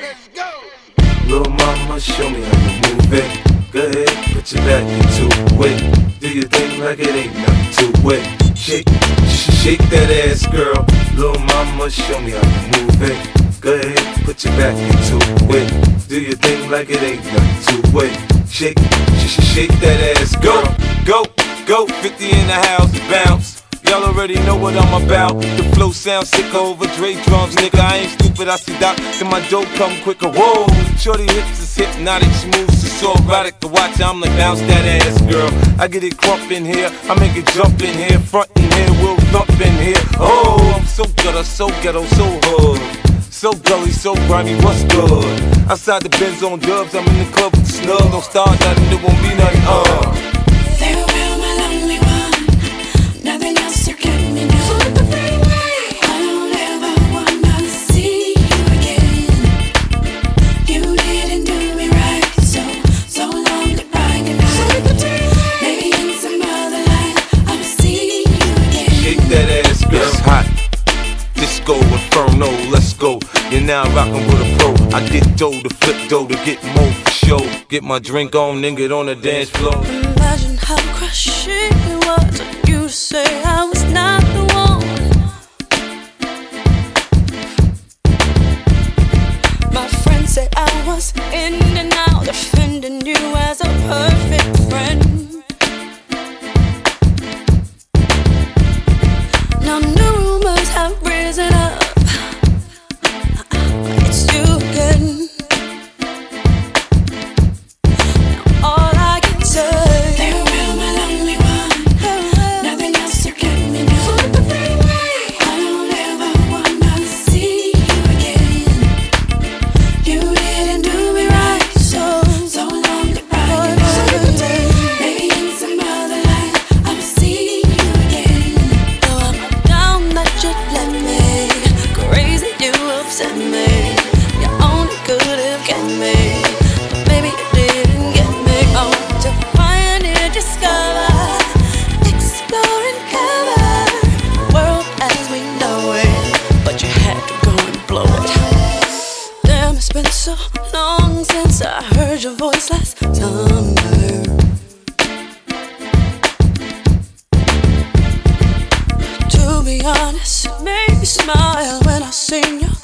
Little mama, show me how you move it. Go ahead, put your back into it. Do your thing like it ain't nothing to it. Shake that ass, girl. Little mama, show me how you move it. Go ahead, put your back into it. Do your thing like it ain't nothing to it. Shake that ass, go, 50 in the house, bounce. Y'all already know what I'm about. The flow sounds sick over Dre drums, nigga. I ain't stupid, I see Doc, then my dope come quicker. Whoa, shorty hips is hypnotic, she moves, she's so erotic to watch. I'm like, bounce that ass, girl. I get it crump in here, I make it jump in here, front in here, we'll thump in here. Oh, I'm so gutter, so ghetto, so hood. So gully, so grimy, what's good? Outside the Benz on dubs, I'm in the club with the snug. Don't start nothing, there won't be nothing, Farewell, my lonely one. Nothing else to get me now. Flip the freeway. I don't ever wanna see you again. You didn't do me right, so long goodbye, goodbye. Flip the freeway. Maybe in some other life I'll see you again. Shake that ass, girl. It's hot. Disco Inferno, let's go. You're now rockin' with a pro. I get dough to flip dough to get more for show. Get my drink on, then get on the dance floor. Imagine how crushing it was for you to say I was not the one. My friends say I was in and out, defending you as a perfect friend. Now new rumors have risen up. It's you again. Now all I can say, farewell, my lonely one. Nothing else to get me now. Flip the freeway. I don't ever wanna see you again. You didn't do me right, so long goodbye. Maybe in some other life I'll see you again. Though I'm down that you let me, crazy you upset me. You only could have get me, but maybe you didn't get me. Oh, to find and discover, explore and cover the world as we know it, but you had to go and blow it. Damn, it's been so long since I heard your voice last summer. To be honest, it made me smile when I seen your